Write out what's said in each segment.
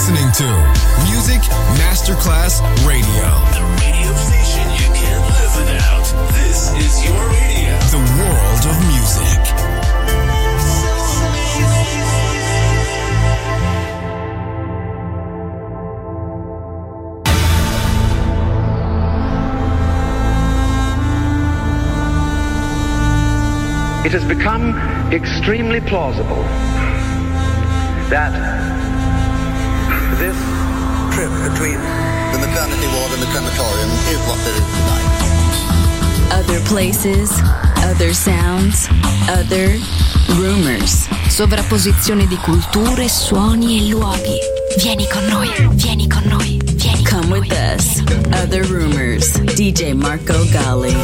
listening to Music Masterclass Radio. The radio station you can't live without. This is your radio. The world of music. It has become extremely plausible that this trip between the maternity ward and the crematorium is what there is tonight. Other places, other sounds, other rumors. Sovrapposizione di culture, suoni e luoghi. Vieni con noi, vieni con noi, vieni con noi. Come with us. Other Rumors. DJ Marco Gally.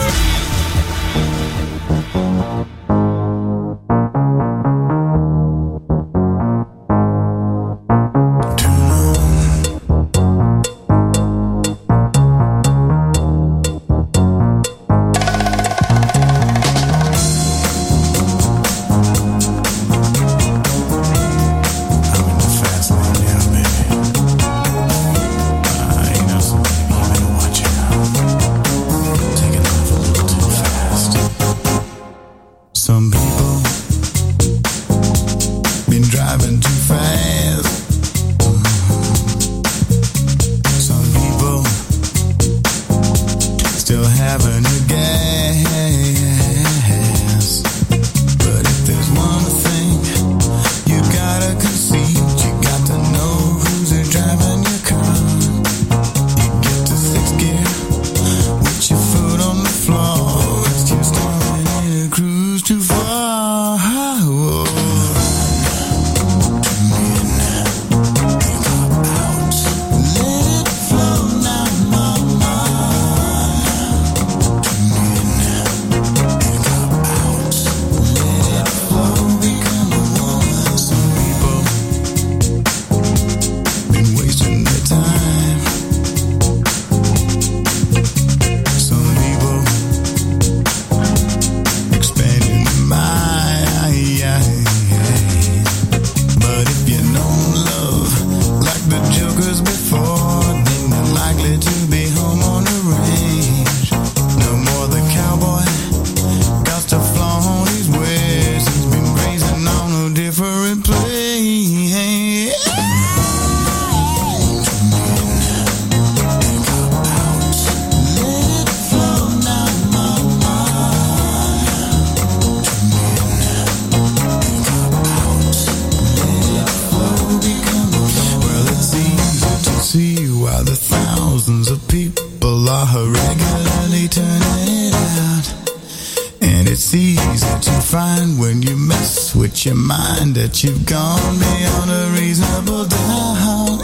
Your mind that you've gone beyond a reasonable doubt.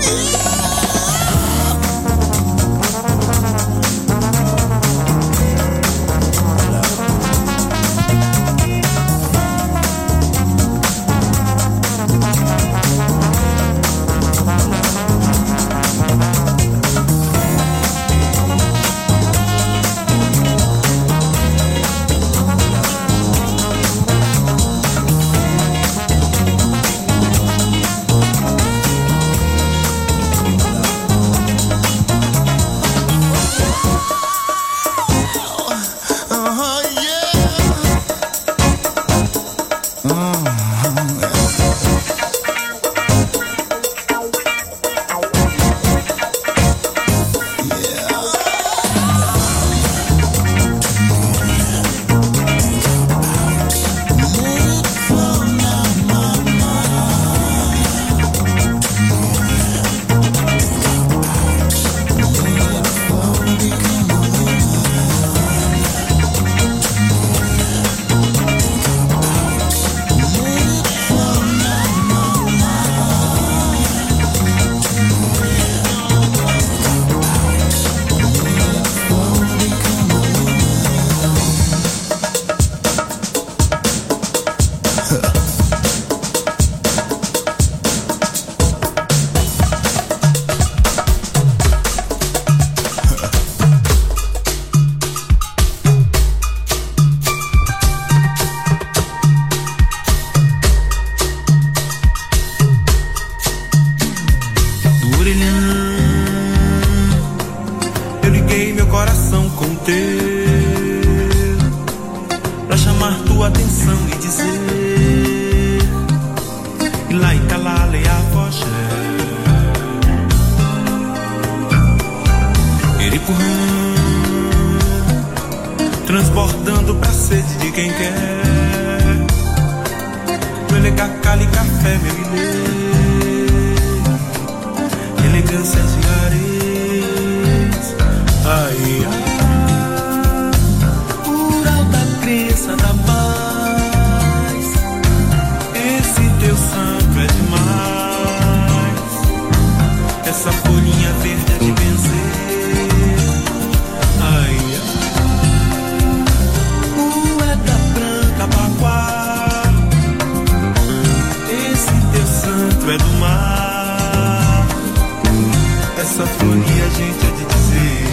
canto é do mar. Essa folia a gente é de dizer.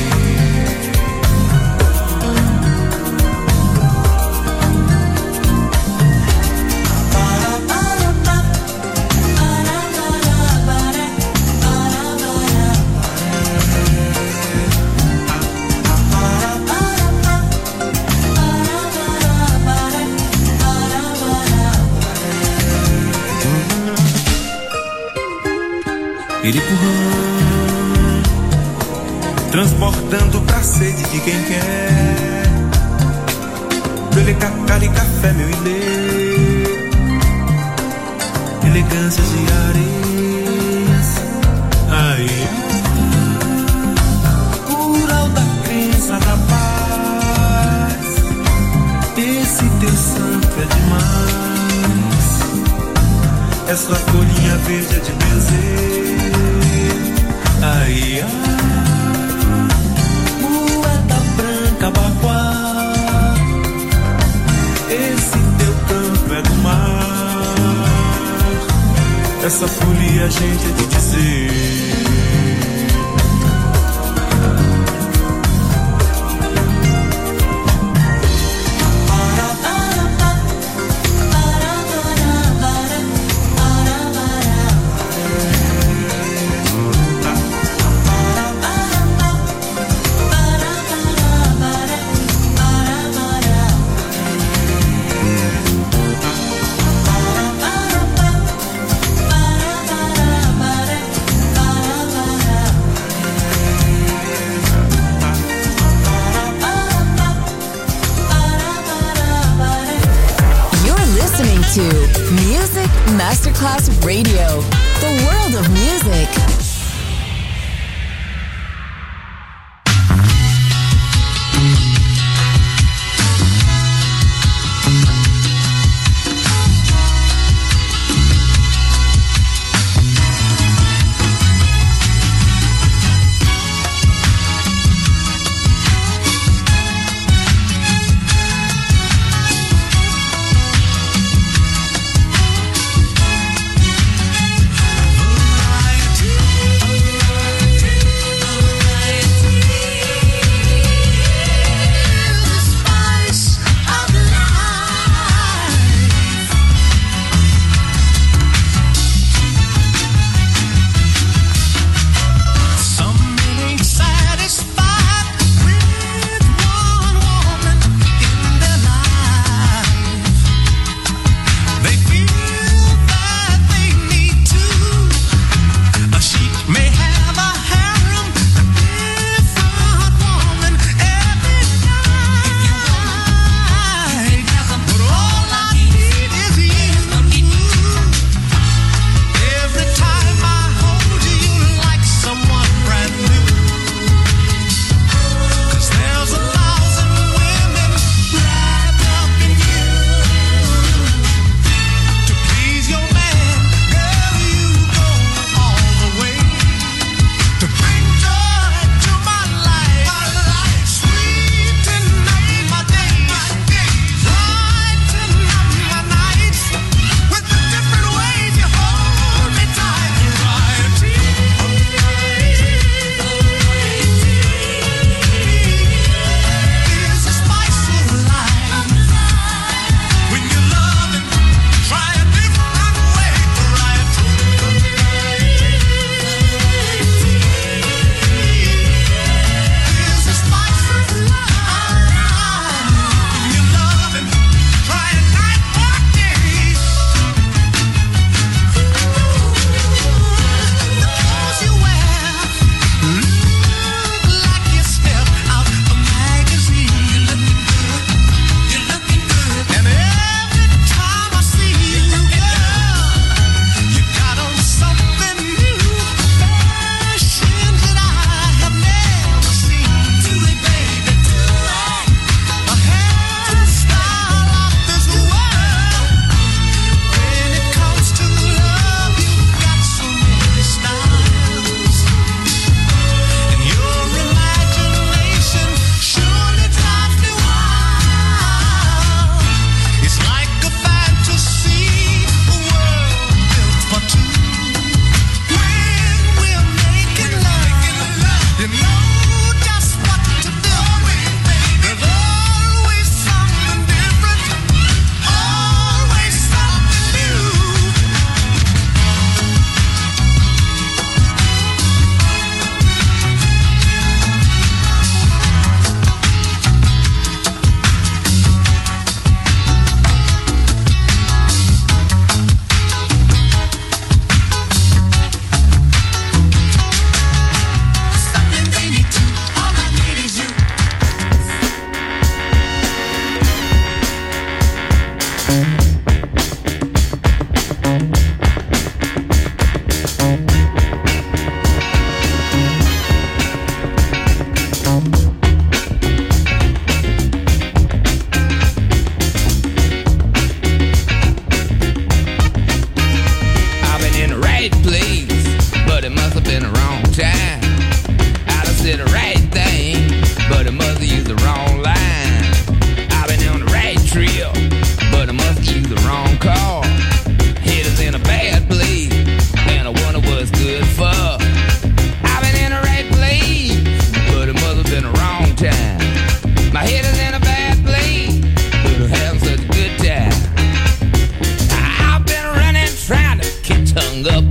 Iripurã, transportando pra sede de quem quer. Bele cacari café, meu ilê, elegâncias de areias. Aí, rural da crença da paz. Esse teu santo é demais. Essa folhinha verde é de benzer. Ai, moeda branca, baguá. Esse teu canto é do mar. Essa folia a gente é de dizer. To Music Masterclass Radio, the world of music. Variety.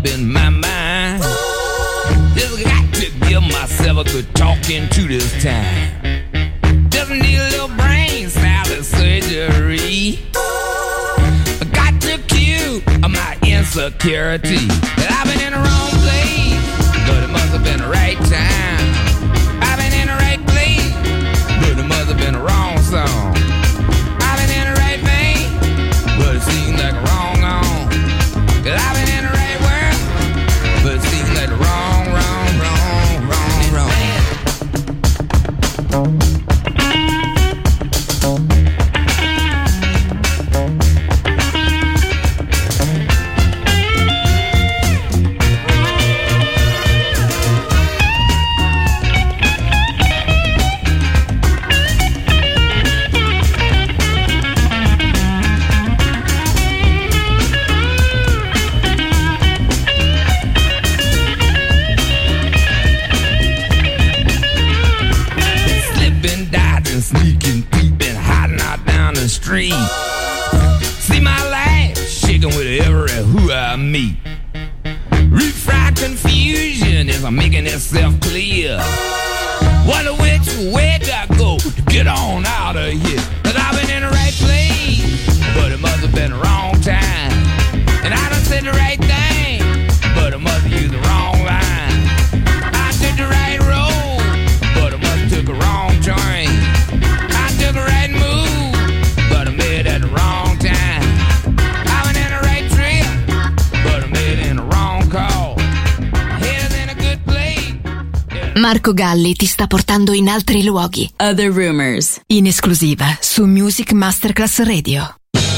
up in my mind. Just got to give myself a good talking to this time. Just need a little brain salad surgery. I got to cue my insecurity. That I've been in the wrong place, but it must have been the right time. I've been in the right place, but it must have been the wrong song. I've been in the right vein, but it seems like a wrong on. Cause I've been in the right world, but it seems like the wrong. Street. See my life shaking with every who I meet. Refried confusion is making itself clear. Wonder which way do I go to get on out of here? Cause I've been in the right place, but it must have been the wrong time. And I done said the right thing, but I must have used the wrong line. I took the right road, but I must have took a wrong train. I took the right move, but I made it at the wrong time. I went in the right trip, but I made it in the wrong call. Headed in a good place. Yeah. Marco Galli ti sta portando in altri luoghi. Other Rumors, in esclusiva su Music Masterclass Radio.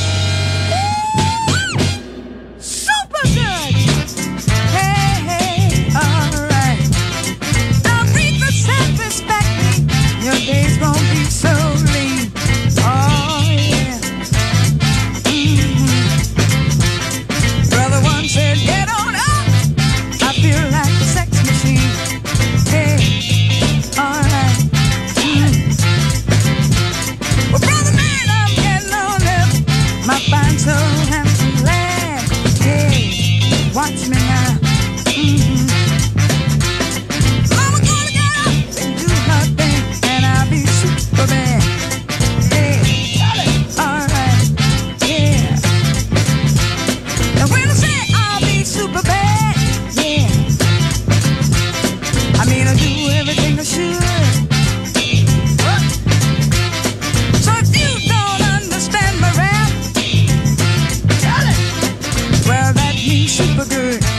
Watch me now. Mama gonna get up and do her thing, and I'll be super bad. Yeah, alright, yeah. And when I say I'll be super bad, yeah, I mean I do everything I should. So if you don't understand my rap, well that means super good.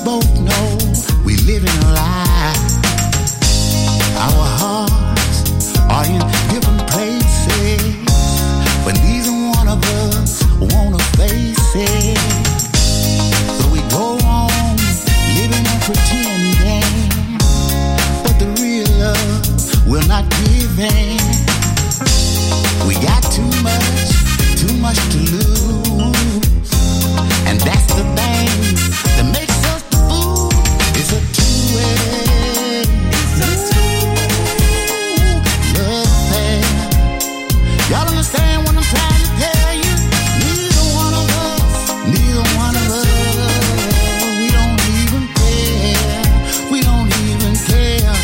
both know we live in a lie. Our hearts are in different places, but neither one of us wanna face it. So we go on living and pretending, but the real love will not give in. We got too much to lose, and that's the thing that makes us the fool. It's a two-way love affair. Y'all understand what I'm trying to tell you? Neither one of us, we don't even care.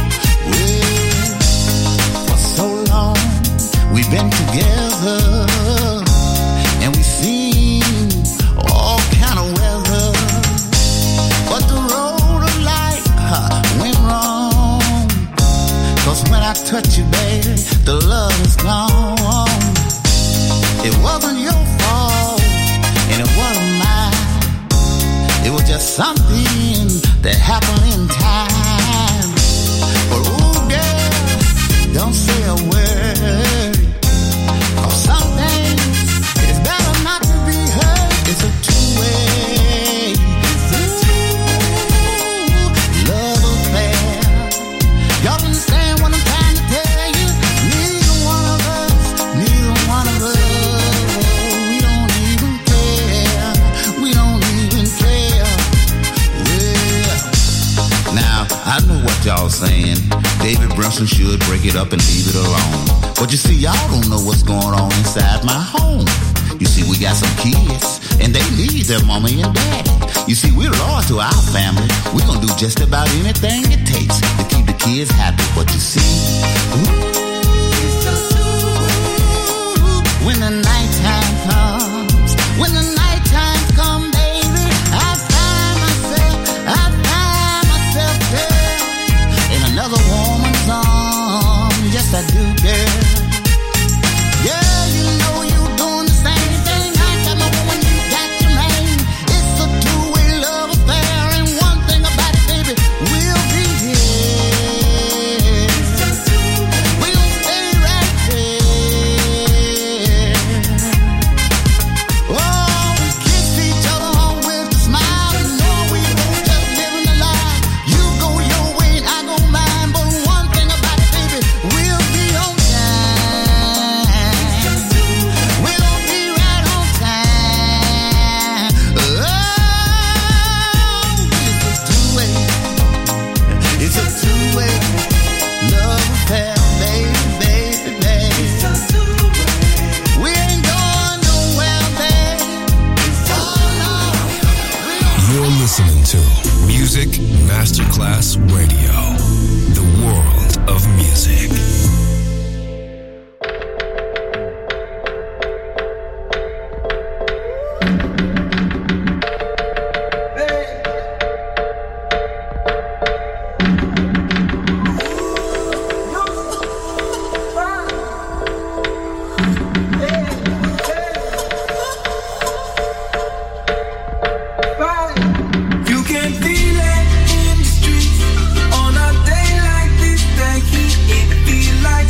Well, for so long we've been together, and we've seen all kind of weather, but the road of life went wrong. 'Cause when I touch you, baby, the love is gone. It wasn't your fault, and it wasn't mine. It was just something that happened in time. But ooh, girl, don't say a word. Some things, it's better not to be heard. It's a two-way love affair. Y'all understand what I'm trying to tell you? Neither one of us, we don't even care. Well, now, I know what y'all saying. David Brunson should break it up and leave it alone. But you see, y'all don't know what's going on inside my home. You see, we got some kids, and they need their mommy and daddy. You see, we're loyal to our family. We're gonna do just about anything it takes to keep the kids happy. But you see, when the nighttime comes, baby, I find myself there in another woman's arms. Yes, I do, girl. Yeah, you know you're doing the same thing. I got my woman, you got your man. It's a two-way love affair, and one thing about it, baby, we'll be here. We'll stay right there. Oh, we kiss each other on with a smile, and know we both just living the life. You go your way and I go mine, but one thing about it, baby, we'll be on time. We'll be right on time. Oh, it's a two-way love affair, baby. We ain't going nowhere, baby. Oh, no. You're listening to Music Masterclass Radio, the world of music. You can feel it in the streets on a day like this. The heat, it feel like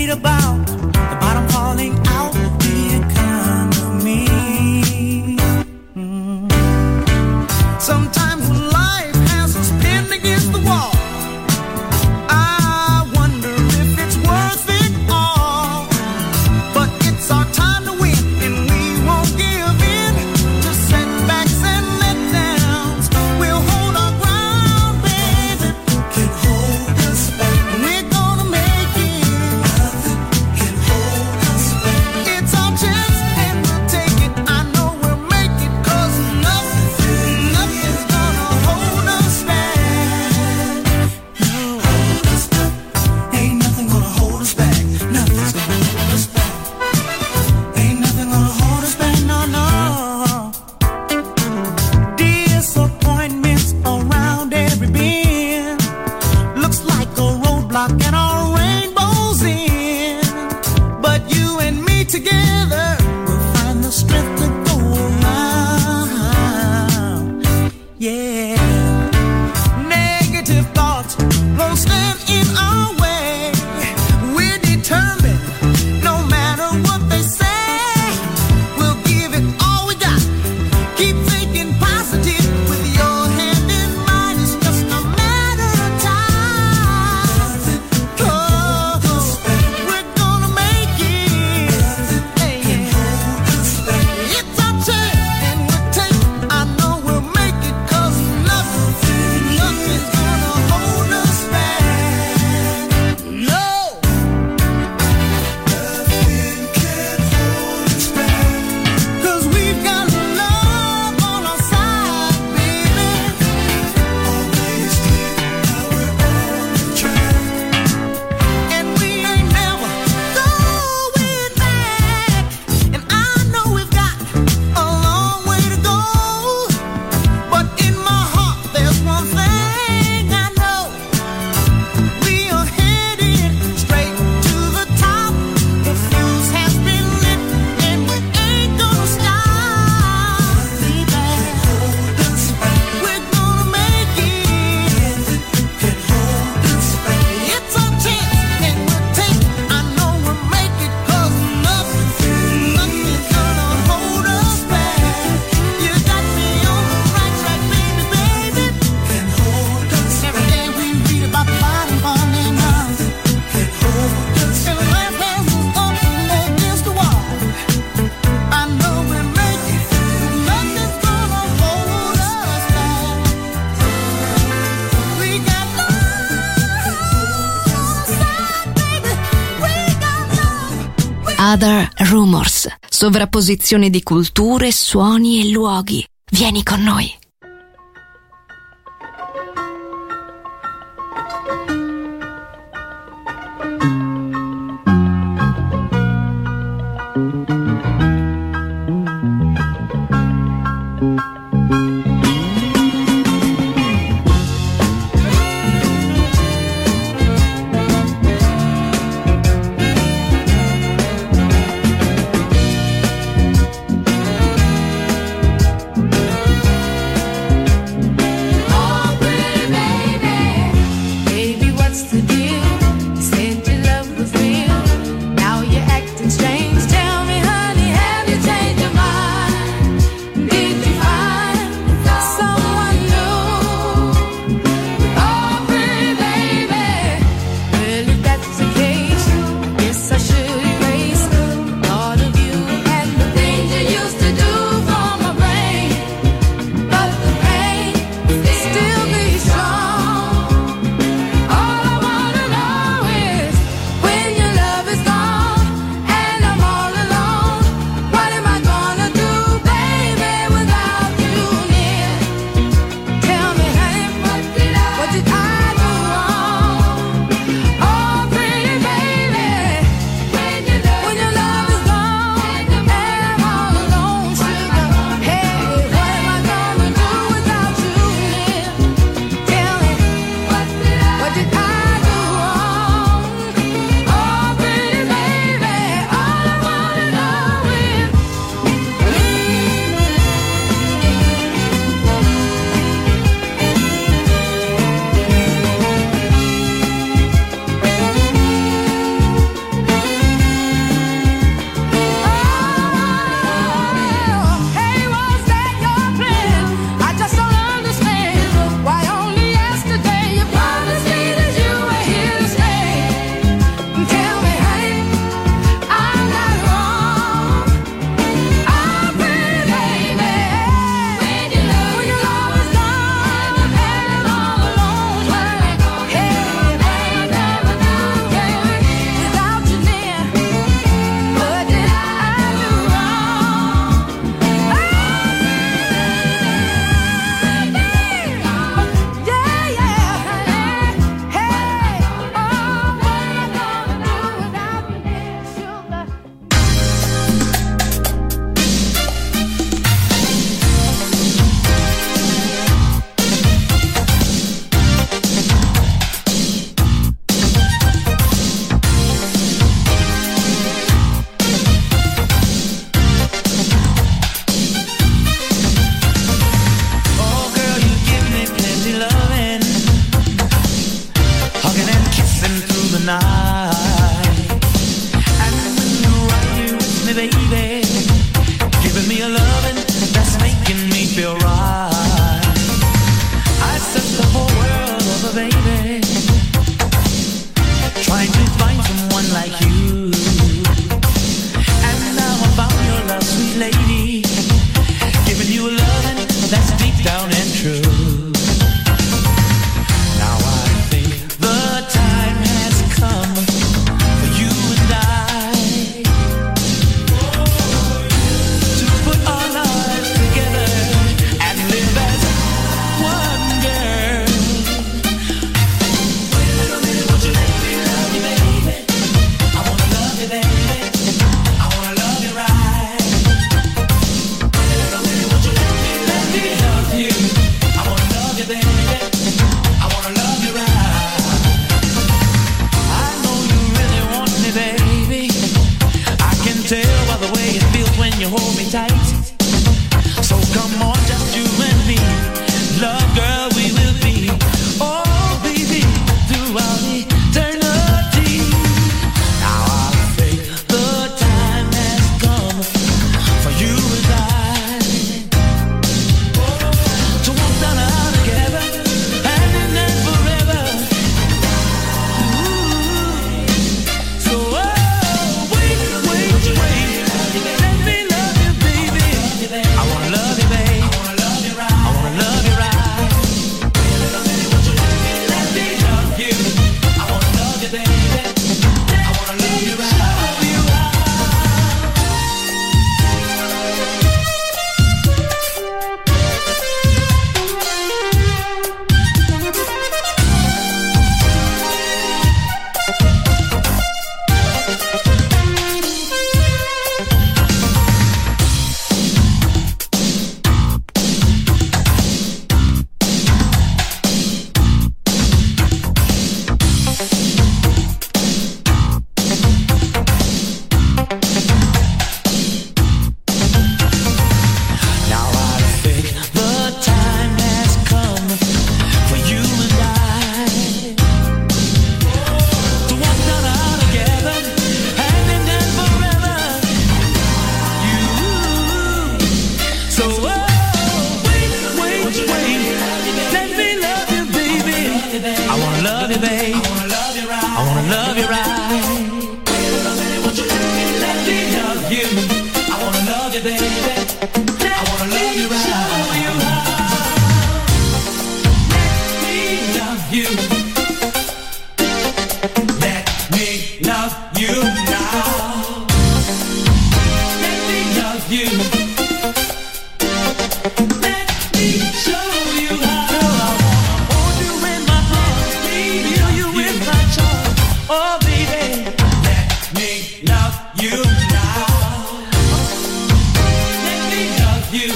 read about the bottom falling out the economy. Sometimes when life has us pinned against the wall, I wonder if it's worth it all. But it's our time to win, and we won't give in to setbacks and letdowns. We'll hold our ground, baby. Can hold us back. We're gonna make it. Nothing can hold us back. It's our chance, and we'll take it. I know we'll make it, 'cause nothing's gonna hold us back. No, hold us back. Ain't nothing gonna hold us back. Nothing's gonna hold us back. Ain't nothing gonna hold us back, no, no. Disappointments around every bend. Looks like a roadblock and our rainbow's in. But you and me together, we'll find the strength to go around. Yeah. Negative thoughts won't stand in our way. We're determined, no matter what they say. We'll give it all we got. Keep thinking positive with your hand in mine. It's just a matter of time. Oh, we're gonna make it. Hey, it's our chance, and we'll take it. I know we'll make it, 'cause nothing's gonna hold us back. No. Nothing can hold us back. 'Cause we've got love on our side, baby. Always clear how we're on the track. And we ain't never going back. And I know we've got a long way to go. But in my heart there's one thing I know. We are headed straight to the top. The fuse has been lit, and we ain't gonna stop. We're gonna make it. It's our chance, and we'll take it. I know we'll make it, 'cause nothing's gonna hold us back. You got me on the right track, baby, baby. Every day we read about the bottom falling out. And life has us up against the wall. I know we'll make it. Nothing's gonna hold us back. We got love on our side, baby. We got love. Other Rumors. Sovrapposizione di culture, suoni e luoghi. Vieni con noi. me, baby. Giving me a loving that's making me feel right. I searched the whole world over, baby, trying to find someone like you. And now I found your love, sweet lady, giving you a loving that's deep down and true. Now I think the time has come for you and I to put our lives together and live as one girl. Wait a little minute, won't you let me love you, baby? I wanna love you, baby. I wanna love you right. Wait a little minute, won't you let me love you? I wanna love you, baby. I wanna love you right. I know you really want me, baby. I can tell by the way it feels when you hold me tight. So come on, just you and me. Love, girl, we will be. Oh, baby, throughout eternity. Now I think the time has come for you and I to walk down the aisle together, hand in hand forever. Ooh. So, wait, let me love you, baby. I wanna love you, babe. I wanna love you right. I wanna love you right. Wait a little minute, won't you let me love you? I wanna love you, baby. I wanna love you right. Now I think the time has come for you and I to walk down the aisle together, hand in hand forever. You. So wait, let me love you, baby. I wanna love you, babe. I wanna love you right. I wanna love you right. Wait a minute, won't you let me love you? I wanna love you, baby. I wanna love you right. Let me love you. Let me love you now. Let me love you. Let me show you how. I wanna hold you in my arms, feel you in my charms. Oh, baby, let me love you now. Let me love you.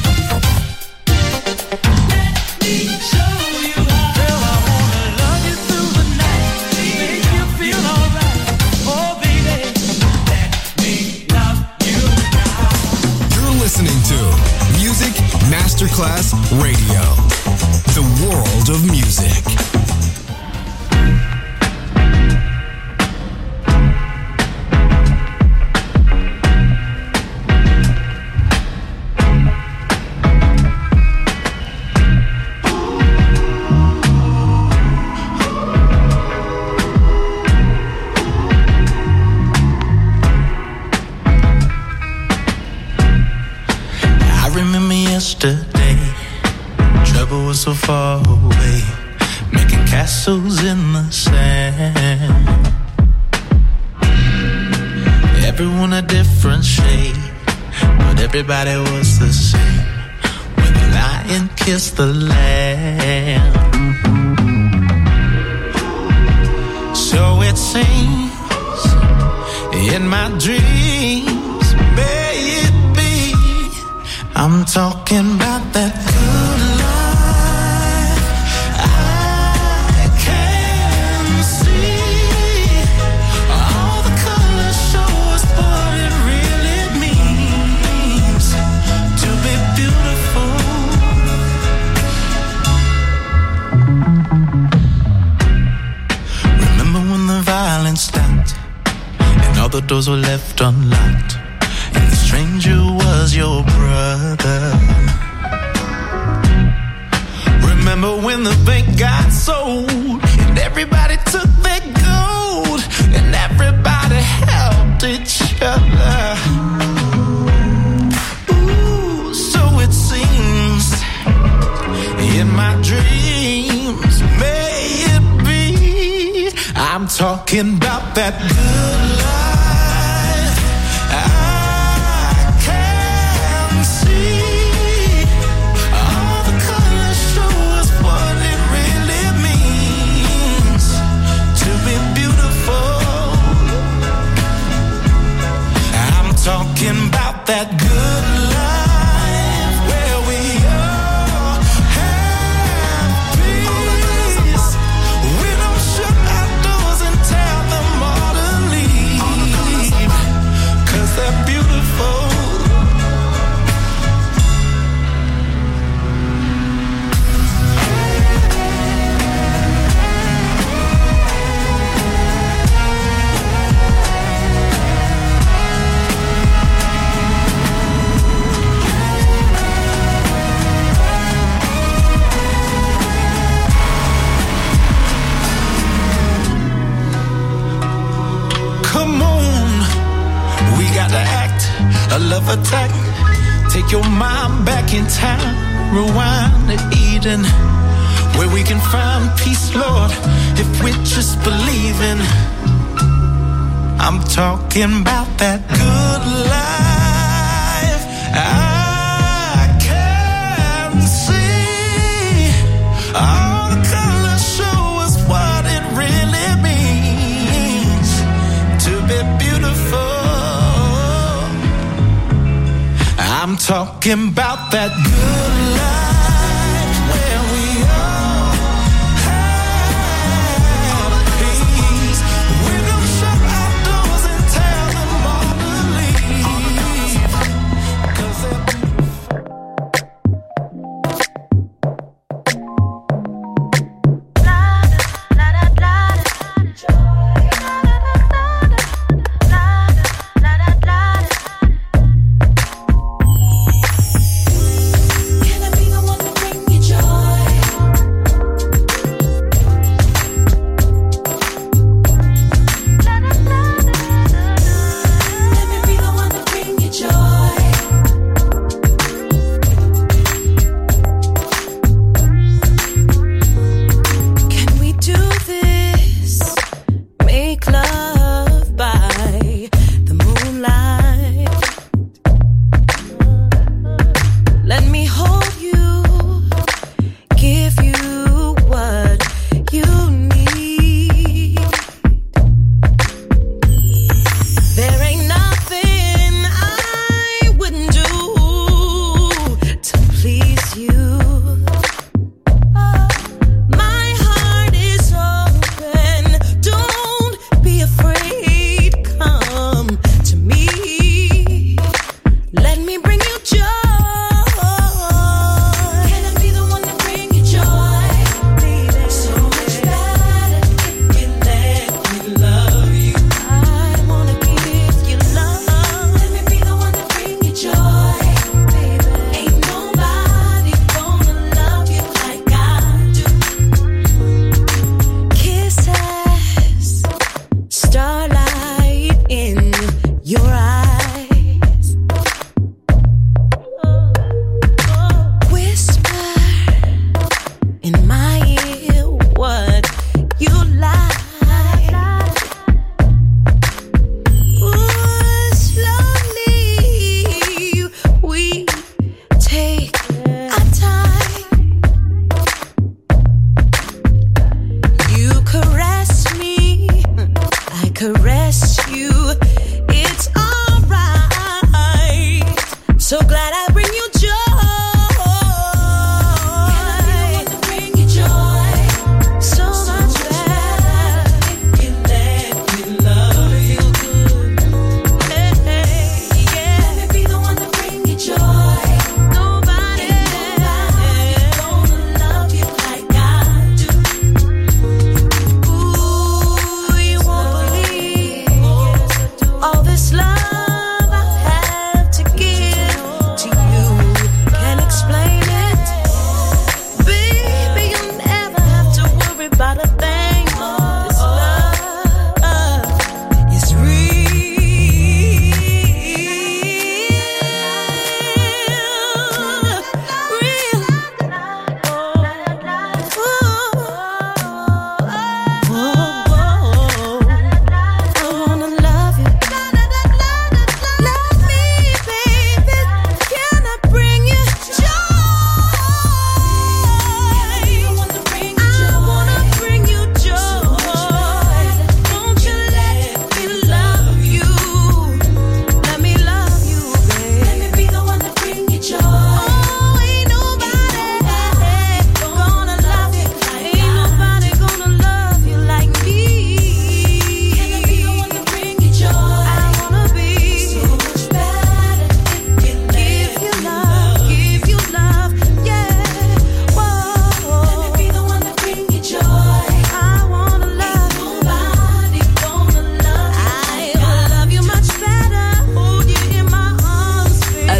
Let me show you how. Girl, I wanna love you through the night, make you feel alright. Oh, baby, let me love you now. You're listening to Music Masterclass Radio, the world of music. I remember yesterday, trouble was so far away, making castles in the sand. Everyone a different shade, but everybody was the same when the lion kissed the lamb. So it seems in my dreams, may it be, I'm talking about that good life. I can see all the colors show us what it really means to be beautiful. Remember when the violence stopped and all the doors were left unlocked? and the stranger was your brother. Remember when the bank got sold and everybody took their gold and everybody helped each other? Ooh, so it seems in my dreams, may it be. I'm talking about that good life. I can see all the colors show us what it really means to be beautiful. I'm talking about that good life where we all have peace. We don't shut our doors and tell them all to leave, 'cause they're beautiful. Come on, we gotta act, a love attack. Take your mind back in time, rewind to Eden, where we can find peace, Lord, if we just believe in. I'm talking about that good life. I can see all the colors show us what it really means to be beautiful. I'm talking about that good life where we all have peace. We don't shut our doors and tell them all to leave, 'cause they're Can I be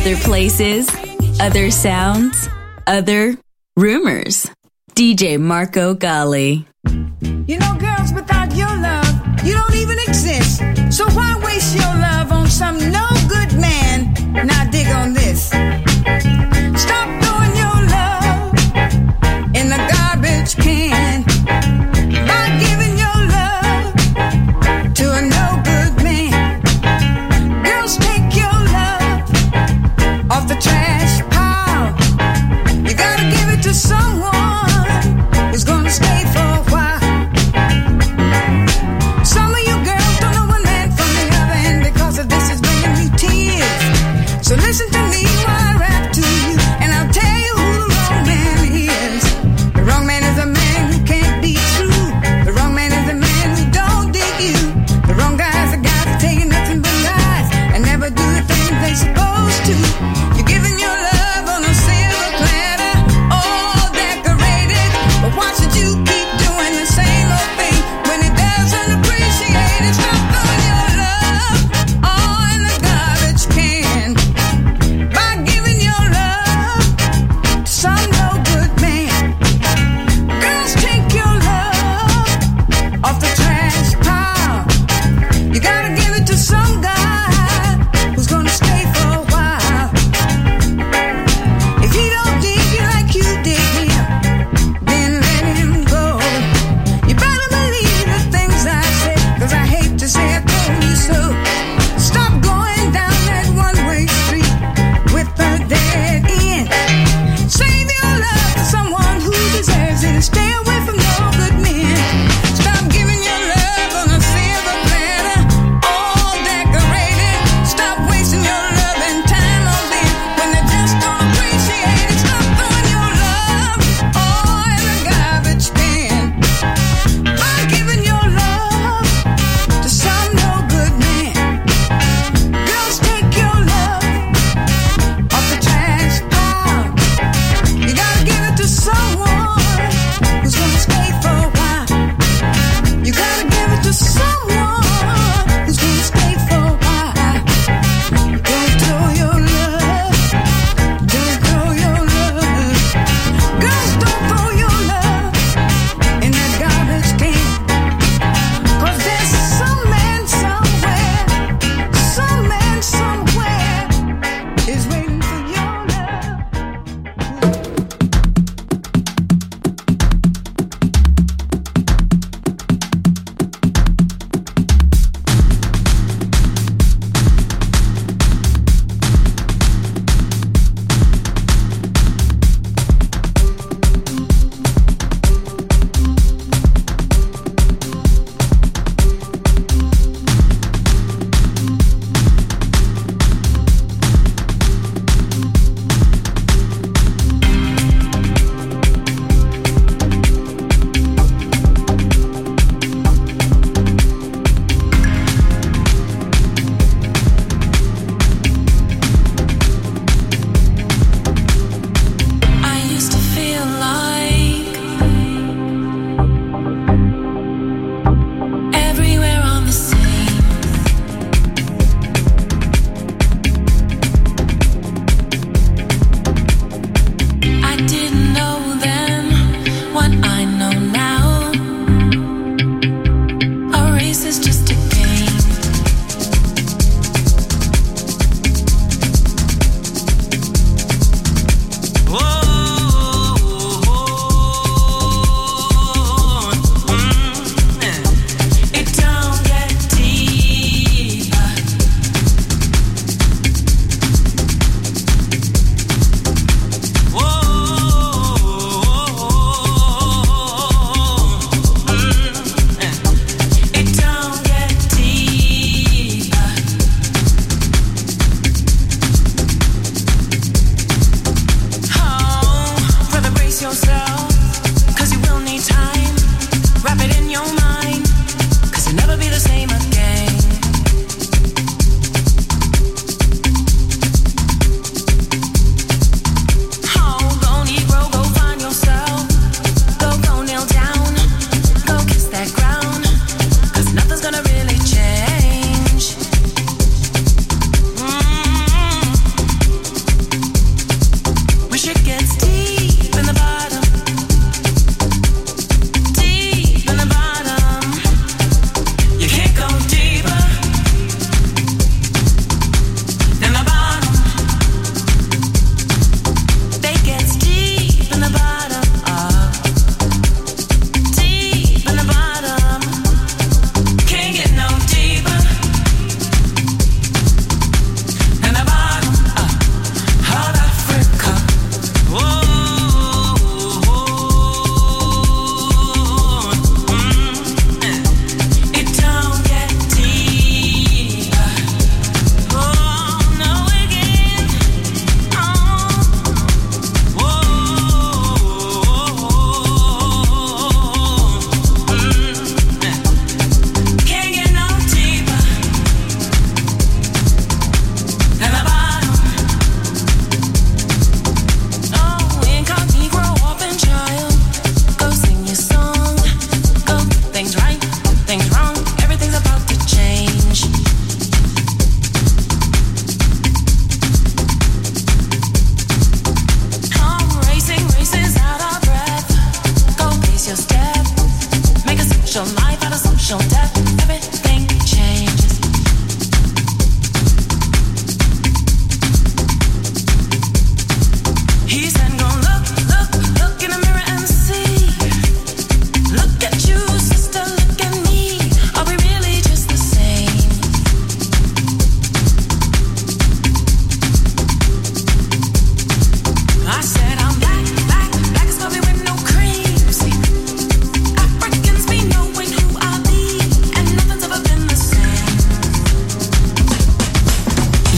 Other places, other sounds, other rumors. DJ Marco Gally. You know, girls, without your love, you don't even exist. So why waste your love on some no good man? Now dig on this. Stop throwing your love in the garbage can by giving your love to a no good man. Girls, take your love off the trash pile. You gotta give it to someone who's gonna stay for a while.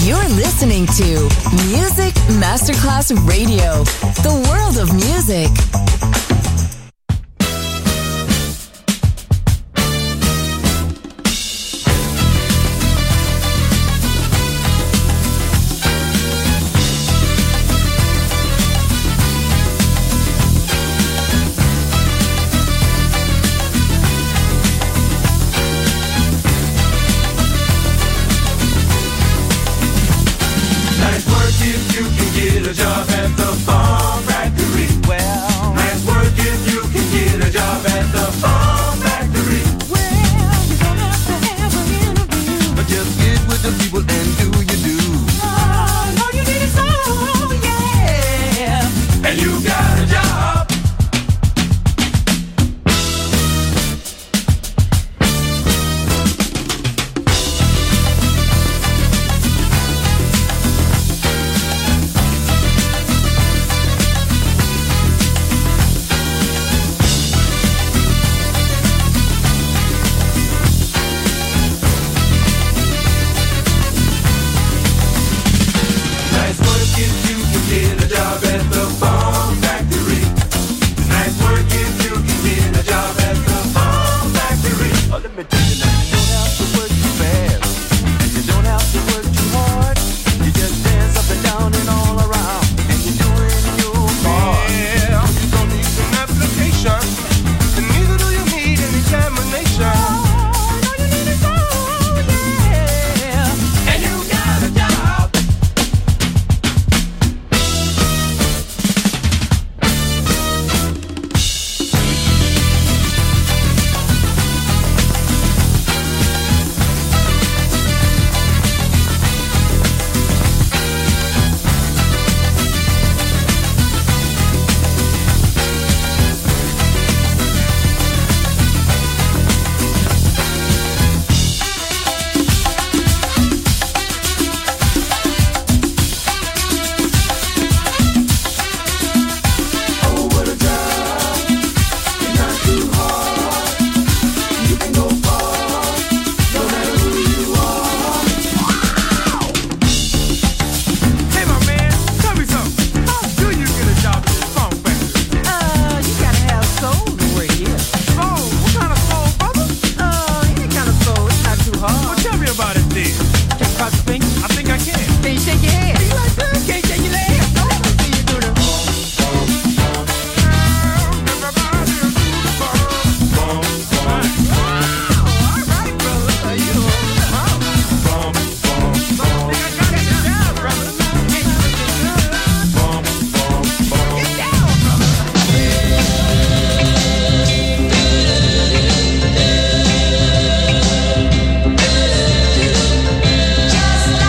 You're listening to Music Masterclass Radio, the world of music. Just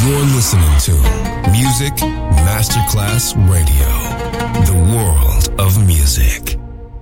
You're listening to Music Masterclass Radio, the world of music.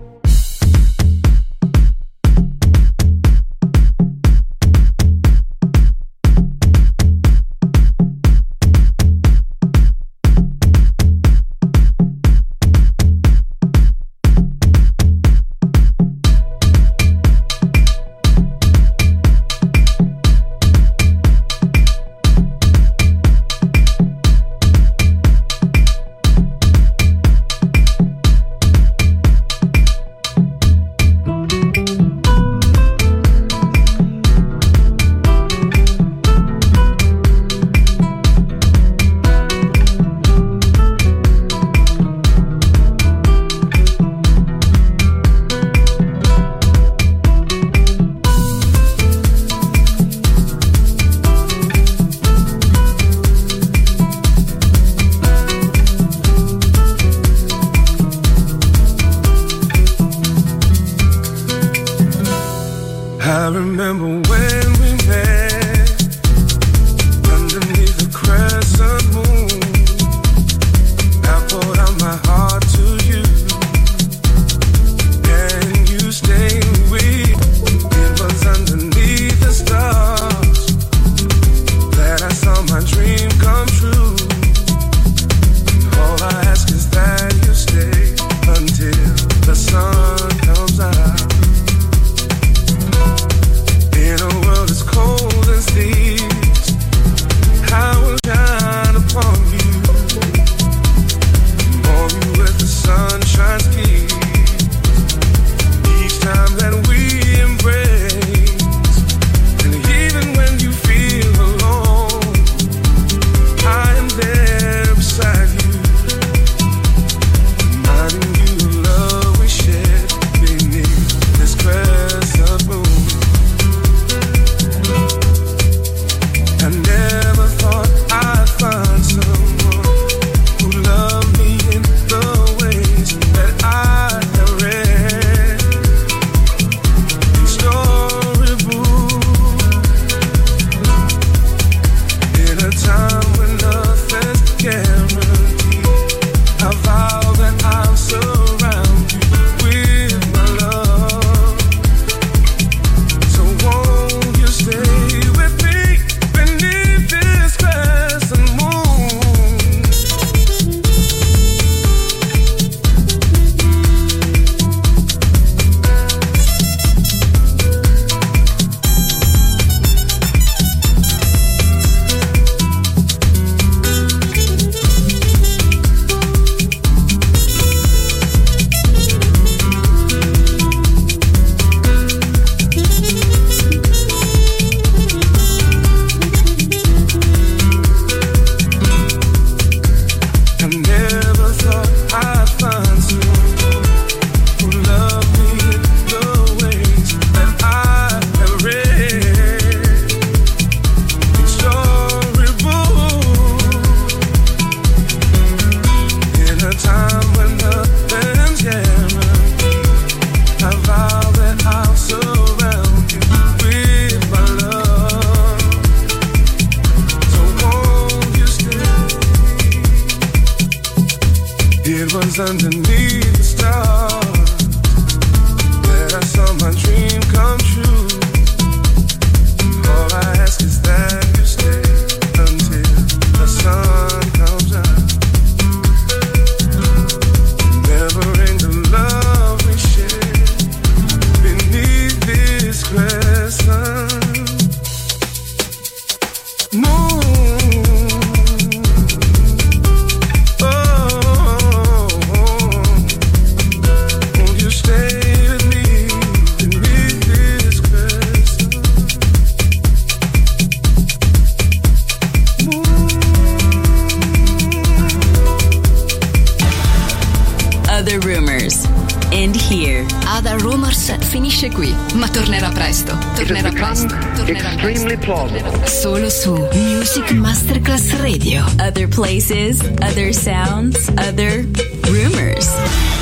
Underneath the stars that I saw my dream come true. All I ask is that you stay until the sun comes out. Never end the love we share beneath this crescent moon. Other Rumors finisce qui, ma tornerà presto. Tornerà presto. Solo su Music Masterclass Radio. Other places, other sounds, other rumors.